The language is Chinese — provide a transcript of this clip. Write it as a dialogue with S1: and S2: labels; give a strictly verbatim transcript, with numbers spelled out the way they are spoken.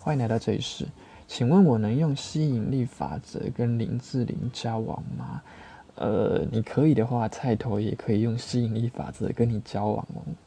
S1: 欢迎来到这里是，请问我能用吸引力法则跟林志玲交往吗？呃，你可以的话，菜头也可以用吸引力法则跟你交往哦。